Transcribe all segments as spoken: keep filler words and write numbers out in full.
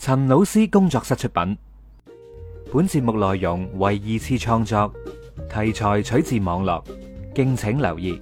陳老師工作室出品，本節目內容為二次創作，題材取自網絡，敬請留意。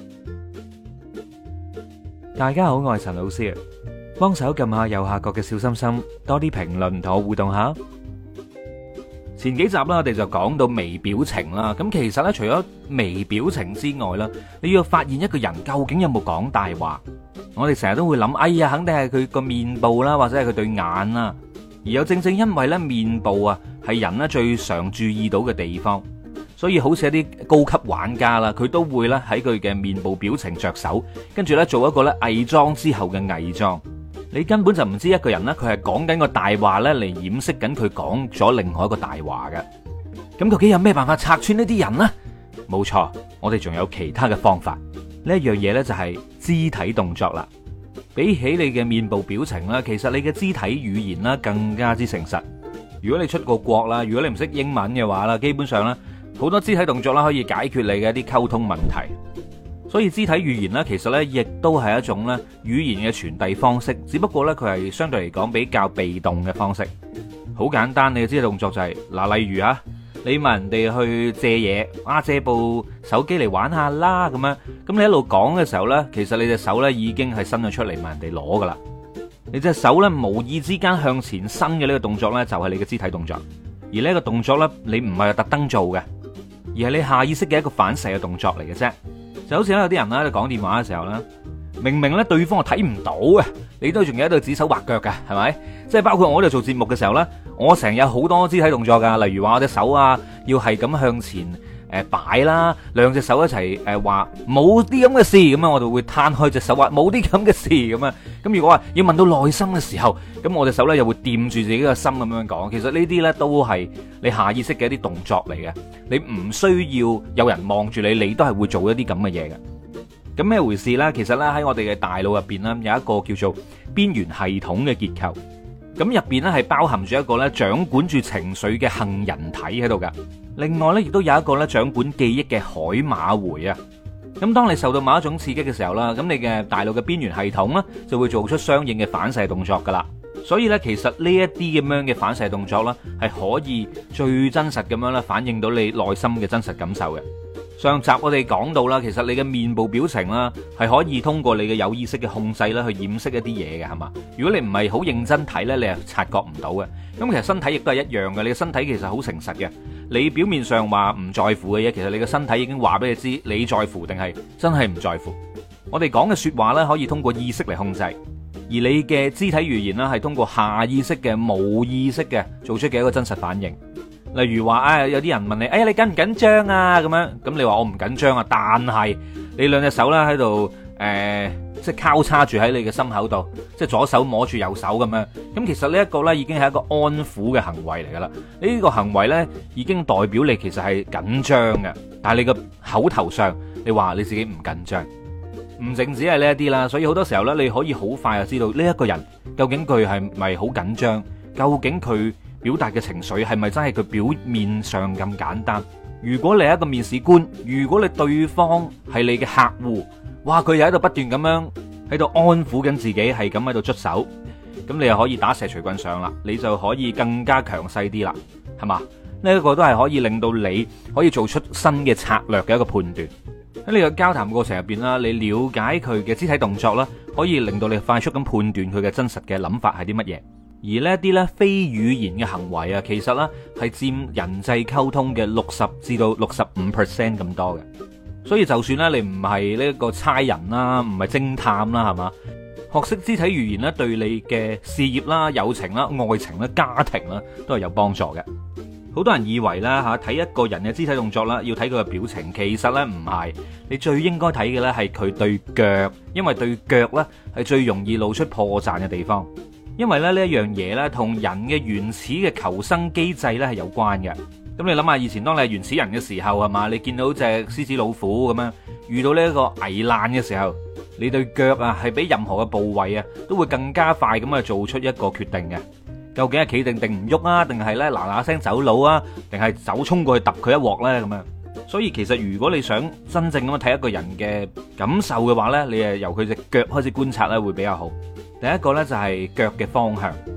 大家好，我係陳老師，幫手撳下右下角嘅小心心，多啲評論同我互動下。前幾集啦，我哋就講到微表情啦。咁其實咧，除咗微表情之外啦，你要發現一個人究竟有冇講大話。我哋成日都會諗，哎呀，肯定係佢個面部啦，或者係佢對眼啦。而又正正因為咧，面部啊係人咧最常注意到嘅地方，所以好似一啲高級玩家啦，佢都會咧喺佢嘅面部表情着手，跟住咧做一個咧偽裝之後嘅偽裝。你根本就唔知一個人咧，佢係講緊個大話咧嚟掩飾緊佢講咗另外一個大話嘅。咁究竟有咩辦法拆穿呢啲人呢？冇錯，我哋仲有其他嘅方法。呢一樣嘢呢，就係肢體動作啦。比起你嘅面部表情啦，其實你嘅肢體語言啦更加之誠實。如果你出過國啦，如果你唔識英文嘅話啦，基本上咧好多肢體動作啦可以解決你嘅一啲溝通問題。所以肢體語言咧，其實咧亦都係一種咧語言嘅傳遞方式，只不過咧佢係相對嚟講比較被動嘅方式。好簡單，你嘅肢體動作就係嗱，例如啊，你問人哋去借嘢，啊借部手機嚟玩下啦咁樣，咁你一路講嘅時候咧，其實你隻手咧已經係伸咗出嚟問人哋攞噶啦。你隻手咧無意之間向前伸嘅呢個動作咧，就係你嘅肢體動作。而呢個動作咧，你唔係特登做嘅，而係你下意識嘅一個反射嘅動作嚟嘅啫。就好似有啲人咧講電話嘅時候咧，明明咧對方係睇唔到嘅，你都仲有喺度指手畫腳嘅，係咪？即係包括我喺度做節目嘅時候咧，我成日有好多肢體動作噶，例如話我隻手啊，要係咁向前誒擺啦，兩隻手一齊誒話冇啲咁嘅事，咁啊我就會攤開隻手話冇啲咁嘅事咁啊。咁如果話要問到內心嘅時候，咁我隻手咧又會掂住自己嘅心咁樣講。其實呢啲咧都係你下意識嘅一啲動作嚟嘅，你唔需要有人望住你，你都係會做一啲咁嘅嘢嘅。咁咩回事呢？其實咧喺我哋嘅大腦入邊咧有一個叫做邊緣系統嘅結構，咁入邊咧係包含住一個咧掌管住情緒嘅杏仁體喺度噶。另外咧亦都有一個咧掌管記憶嘅海馬回啊。咁當你受到某一種刺激嘅時候啦，咁你嘅大腦嘅邊緣系統咧就會做出相應嘅反射動作噶啦。所以咧其實呢一啲咁樣嘅反射動作咧係可以最真實咁樣咧反映到你內心嘅真實感受嘅。上集我哋講到啦，其實你嘅面部表情啦，係可以通過你嘅有意識嘅控制啦，去掩飾一啲嘢嘅，係嘛？如果你唔係好認真睇呢，你係察覺唔到嘅。咁其實身體亦都係一樣嘅，你嘅身體其實好誠實嘅。你表面上話唔在乎嘅嘢，其實你嘅身體已經話俾你知，你在乎定係真係唔在乎。我哋講嘅說話呢，可以通過意識嚟控制，而你嘅肢體語言呢，係通過下意識嘅、冇意識嘅做出嘅一個真實反應。例如話啊，有啲人問你，哎呀，你緊唔緊張啊？咁樣，咁你話我唔緊張啊，但係你兩隻手咧喺度，誒、呃，即係交叉住喺你嘅心口度，即係左手摸住右手咁樣。咁其實呢一個咧已經係一個安撫嘅行為嚟噶啦。呢、這個行為咧已經代表你其實係緊張嘅，但係你個口頭上你話你自己唔緊張，唔淨止係呢一啲啦。所以好多時候咧，你可以好快就知道呢一個人究竟佢係咪好緊張，究竟佢表達嘅情緒係咪真係佢表面上咁簡單？如果你係一個面試官，如果你對方係你嘅客戶，哇，佢又喺度不斷咁樣喺度安撫緊自己，係咁喺度捽手，咁你又可以打蛇隨棍上啦，你就可以更加強勢啲啦，係嘛？呢一個都係可以令到你可以做出新嘅策略嘅一個判斷。喺呢個交談過程入邊啦，你了解佢嘅肢體動作啦，可以令到你快速咁判斷佢嘅真實嘅諗法係啲乜嘢。而呢啲咧非語言嘅行為啊，其實咧係佔人際溝通嘅六十至到六十五 percent 咁多嘅。所以就算咧你唔係呢個差人啦，唔係偵探啦，係嘛？學識肢體語言咧，對你嘅事業啦、友情啦、愛情啦、家庭啦，都係有幫助嘅。好多人以為啦吓，睇一個人嘅肢體動作啦，要睇佢嘅表情，其實咧唔係。你最應該睇嘅咧係佢對腳，因為對腳咧係最容易露出破綻嘅地方。因為咧呢一樣嘢咧，同人嘅原始嘅求生機制咧係有關嘅。咁你諗下，以前當你係原始人嘅時候係嘛，你見到隻獅子老虎咁樣，遇到呢一個危難嘅時候，你對腳啊係比任何嘅部位啊都會更加快咁去做出一個決定嘅。究竟係企定定唔喐啊，定係咧嗱嗱聲走佬啊，定係走衝過去揼佢一鑊咧咁樣？所以其實如果你想真正咁樣睇一個人嘅感受嘅話咧，你係由佢隻腳開始觀察咧會比較好。第一個咧就係腳嘅方向。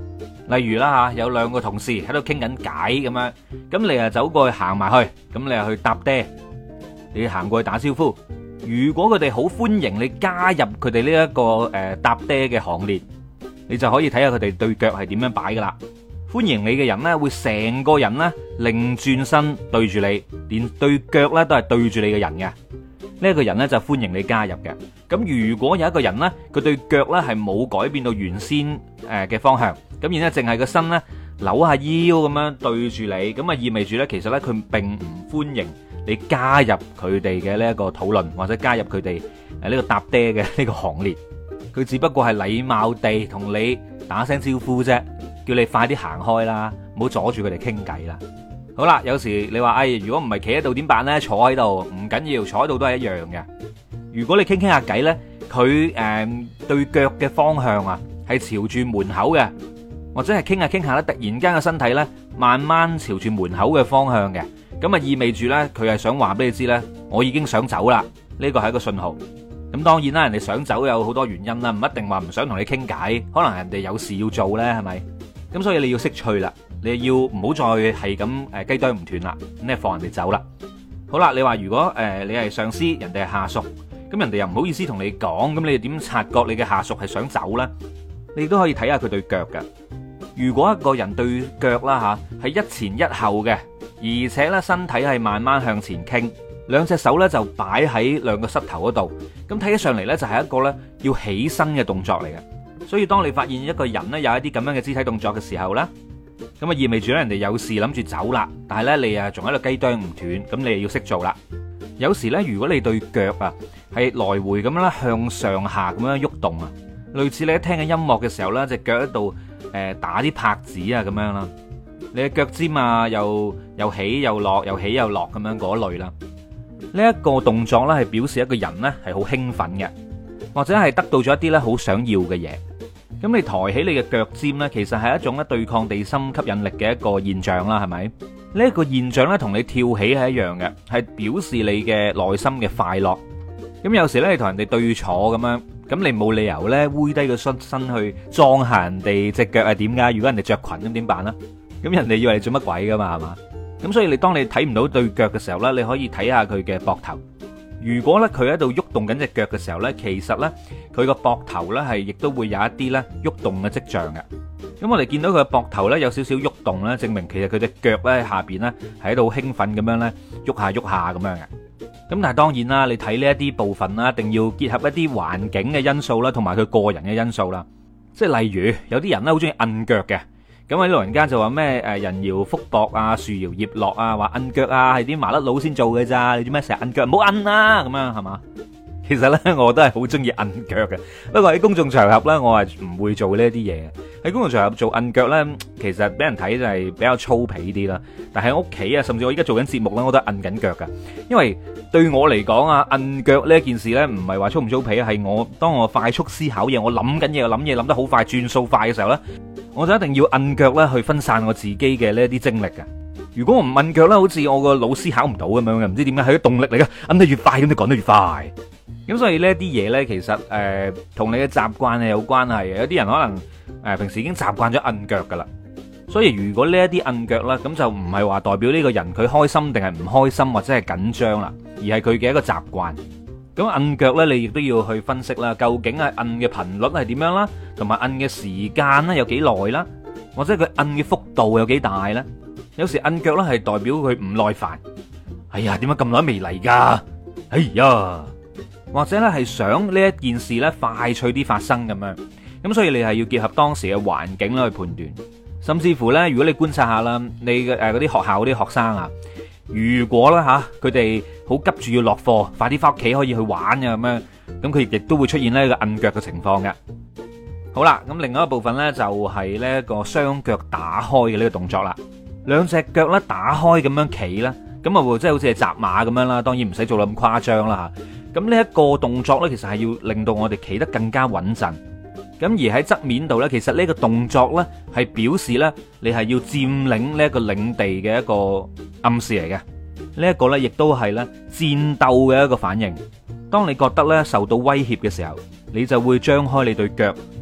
例如啦吓，有兩個同事喺度傾緊偈咁樣，咁你啊走過去行埋去，咁你啊去搭爹，你行過去打招呼。如果佢哋好歡迎你加入佢哋呢一個誒搭爹嘅行列，你就可以睇下佢哋對腳係點樣擺噶啦。歡迎你嘅人呢，會成個人呢擰轉身對住你，連對腳呢都係對住你嘅人嘅。呢一個人呢就歡迎你加入嘅。咁如果有一個人呢，佢對腳呢係冇改變到原先誒嘅方向，咁然之後淨係個身呢扭下腰咁樣對住你，咁啊意味住呢，其實呢，佢並唔歡迎你加入佢哋嘅呢一個討論，或者加入佢哋誒呢個搭爹嘅呢個行列。佢只不過係禮貌地同你打聲招呼啫，叫你快啲行開啦，唔好阻住佢哋傾偈啦。好啦，有時你話哎，如果唔係企喺度點辦呢？坐喺度唔緊要，坐喺度都係一樣嘅。如果你傾傾下偈呢，佢誒、呃、對腳嘅方向啊係朝住門口嘅，或者係傾下傾下咧，突然間嘅身體呢慢慢朝住門口嘅方向嘅，咁啊意味住呢，佢係想話俾你知呢，我已經想走啦。呢個係一個信號。咁當然啦，人哋想走有好多原因啦，唔一定話唔想同你傾偈，可能人哋有事要做呢，係咪？咁所以你要識趣啦，你要唔好再係咁誒雞啄唔斷啦，咁你放人哋走啦。好啦，你話如果誒、呃、你係上司，人哋係下屬，咁人哋又唔好意思同你講，咁你點察覺你嘅下屬係想走呢？你都可以睇下佢對腳嘅。如果一個人對腳啦吓係一前一後嘅，而且咧身體係慢慢向前傾，兩隻手咧就擺喺兩個膝頭嗰度，咁睇起上嚟咧就係一個咧要起身嘅動作嚟嘅。所以當你發現一個人咧有一啲咁樣嘅肢體動作嘅時候咧，咁啊意味住咧人哋有事諗住走啦，但係咧你啊仲喺度雞啄唔斷，咁你又要識做啦。有時咧如果你對腳啊係來回咁樣啦向上下咁樣喐動啊，類似你一聽緊音樂嘅時候咧隻腳喺度誒打啲拍子啊咁樣啦，你嘅腳尖啊又又起又落又起又落咁樣嗰類啦。呢一個動作咧係表示一個人咧係好興奮嘅，或者係得到咗一啲咧好想要嘅嘢。咁你抬起你嘅腳尖咧，其實係一種咧對抗地心吸引力嘅一個現象啦，係咪？呢一個現象咧同你跳起係一樣嘅，係表示你嘅內心嘅快樂。咁有時咧你同人哋對坐咁樣，咁你冇理由咧彎低個身身去裝下人哋隻腳係點噶？如果人哋着裙咁點辦啊？咁人哋以為你做乜鬼噶嘛，係嘛？咁所以你當你睇唔到對腳嘅時候咧，你可以睇下佢嘅膊頭。如果咧佢喺度喐動緊隻腳嘅時候咧，其實咧佢個膊頭咧係亦都會有一啲咧喐動嘅跡象嘅。咁我哋見到佢嘅膊頭咧有少少喐動咧，證明其實佢隻腳咧下邊咧係喺度興奮咁樣咧喐下喐下咁樣嘅。咁但係當然啦，你睇呢一啲部分啦，一定要結合一啲環境嘅因素啦，同埋佢個人嘅因素啦。即係例如有啲人咧好中意摁腳嘅。咁啊啲老人家就話咩誒人搖福薄啊，樹搖葉落啊，話摁腳啊係啲麻甩佬先做嘅咋，你做咩成日摁腳？唔好摁啊咁樣係嘛？其實咧我都係好中意摁腳嘅，不過喺公眾場合咧我係唔會做呢一啲嘢。喺公眾場合做摁腳咧，其實俾人睇就係比較粗鄙啲啦。但係喺屋企啊，甚至我依家做緊節目咧，我都係摁緊腳噶。因為對我嚟講啊，摁腳呢一件事咧，唔係話粗唔粗鄙啊，係我當我快速思考嘢，我諗緊嘢，我諗嘢諗得好快，轉數快嘅時候咧，我就一定要摁腳咧去分散我自己嘅呢一啲精力嘅。如果我唔摁腳咧，好似我個腦思考唔到咁樣嘅，唔知點解係啲動力嚟嘅，摁得越快咁就講得越快。咁所以呢啲嘢咧，其實誒同你嘅習慣係有關係嘅。有啲人可能誒、呃、平時已經習慣咗摁腳噶啦，所以如果呢一啲摁腳啦，咁就唔係話代表呢個人佢開心定係唔開心或者係緊張啦，而係佢嘅一個習慣。咁摁腳咧，你亦都要去分析啦，究竟係摁嘅頻率係點樣啦，同埋摁嘅時間咧有幾耐啦，或者佢摁嘅幅度有幾大咧。有時摁腳咧係代表佢唔耐煩，哎呀，點解咁耐未嚟噶？哎呀！或者咧係想呢一件事咧快脆啲發生咁樣，咁所以你係要結合當時嘅環境啦去判斷，甚至乎咧，如果你觀察下啦，你嘅誒嗰啲學校嗰啲學生啊，如果咧吓佢哋好急住要落課，快啲翻屋企可以去玩嘅咁樣，咁佢亦都會出現呢個摁腳嘅情況嘅。好啦，咁另外一個部分咧就係呢一個雙腳打開嘅呢個動作啦，兩隻腳咧打開咁樣企啦，咁啊即係好似係紮馬咁樣啦，當然唔使做到咁誇張啦吓。咁呢一個動作呢，其實係要令到我哋企得更加穩陣。咁而喺側面度呢，其實呢個動作呢，係表示呢，你係要佔領呢一個領地嘅一個暗示嚟嘅。呢一個呢，亦都係呢戰鬥嘅一個反應。當你覺得呢受到威脅嘅時候，你就會張開你對腳，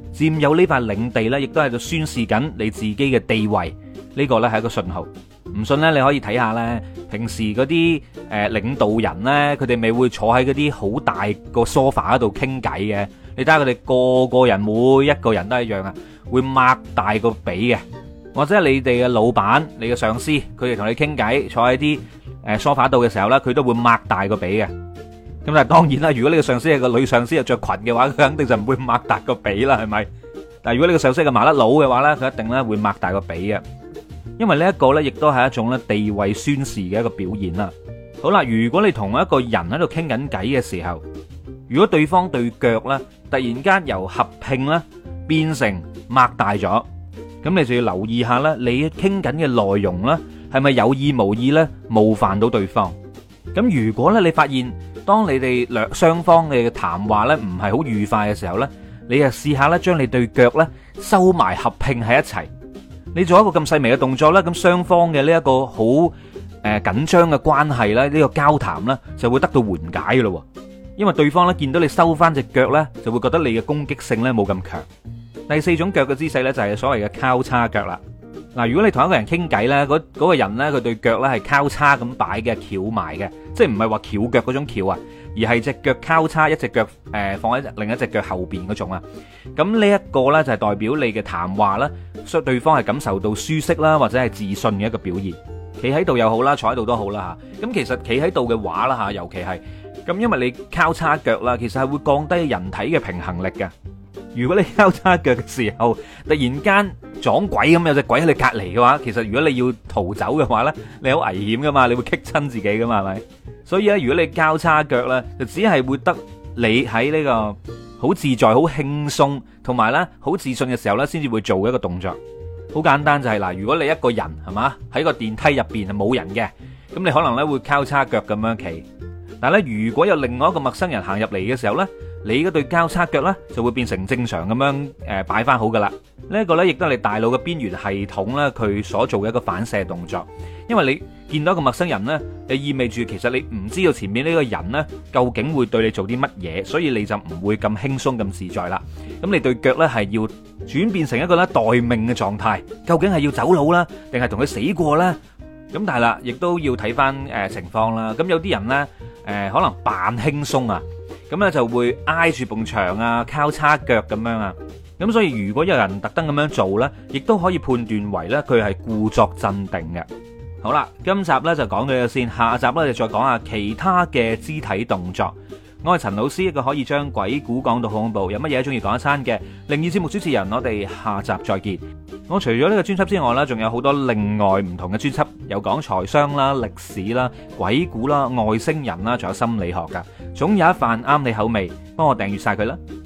佔有呢塊領地呢，亦都喺度宣示緊你自己嘅地位。呢個呢係一個信號。唔信呢，你可以睇下呢，平時嗰啲誒領導人呢，佢哋咪會坐喺嗰啲好大個 sofa 度傾偈嘅。你睇下佢哋個個人每一個人都一樣啊，會擘大個髀嘅。或者你哋嘅老闆、你嘅上司，佢哋同你傾偈，坐喺啲誒 sofa 度嘅時候呢，佢都會擘大個髀嘅。咁但係當然啦，如果你嘅上司係個女上司又着裙嘅話，佢肯定就唔會擘大個髀啦，係咪？但係如果你嘅上司係個麻甩佬嘅話呢，佢一定咧會擘大個髀嘅。因為呢一個呢，亦都係一種咧地位宣示嘅一個表現啦。好啦，如果你同一個人喺度傾緊偈嘅時候，如果對方對腳呢突然間由合併咧變成擘大咗，咁你就要留意下啦，你傾緊嘅內容呢係咪有意無意呢冒犯到對方？咁如果咧你發現當你哋兩雙方嘅談話呢唔係好愉快嘅時候呢，你就試下咧將你對腳呢收埋合併喺一齊。你做一個咁細微嘅動作咧，咁雙方嘅呢一個好誒緊張嘅關係咧，呢個交談咧就會得到緩解嘅咯。因為對方咧見到你收翻隻腳咧，就會覺得你嘅攻擊性咧冇咁強。第四種腳嘅姿勢咧就係所謂嘅交叉腳啦。嗱，如果你同一個人傾偈咧，嗰嗰個人咧佢對腳咧係交叉咁擺嘅，翹埋嘅，即係唔係話翹腳嗰種翹啊，而係隻腳交叉，一隻腳誒放喺另一隻腳後邊嗰種啊。咁呢一個咧就係代表你嘅談話啦，所以對方係感受到舒適啦，或者係自信嘅一個表現。企喺度又好啦，坐喺度都好啦吓。咁其實企喺度嘅話啦吓，尤其係咁，因為你交叉腳啦，其實係會降低人體嘅平衡力嘅。如果你交叉腳嘅時候，突然間撞鬼咁有隻鬼喺你隔離嘅話，其實如果你要逃走嘅話呢，你好危險噶嘛，你會棘親自己噶嘛，係咪？所以咧，如果你交叉腳呢，就只係會得你喺呢個好自在、好輕鬆同埋呢好自信嘅時候呢，先至會做一個動作。好簡單就係嗱，如果你一個人係嘛喺個電梯入邊係冇人嘅，咁你可能呢會交叉腳咁樣企。但係咧，如果有另外一個陌生人行入嚟嘅時候呢，你嗰對交叉腳呢就會變成正常咁樣誒擺翻好噶啦。呢一個呢亦都係你大腦嘅邊緣系統呢佢所做嘅一個反射動作。因為你見到一個陌生人呢，你意味住其實你唔知道前面呢個人呢究竟會對你做啲乜嘢，所以你就唔會咁輕鬆咁自在啦。咁你對腳呢係要轉變成一個咧待命嘅狀態，究竟係要走佬啦，定係同佢死過呢？咁但係啦，亦都要睇翻誒情況啦。咁有啲人呢，誒可能扮輕鬆啊，咁咧就會挨住埲牆啊，交叉腳咁樣啊。咁所以如果有人特登咁樣做呢，亦都可以判斷為呢，佢係故作鎮定嘅。好啦，今集呢就講到呢度先，下集呢就再講下其他嘅肢體動作。我係陳老師，一個可以將鬼故講到好恐怖，有乜嘢中意講一餐嘅靈異節目主持人。我哋下集再見。我除咗呢個專輯之外呢，仲有好多另外唔同嘅專輯，有講財商啦、歷史啦、鬼故啦、外星人啦，仲有心理學噶，總有一瓣啱你口味。幫我訂閱晒佢啦。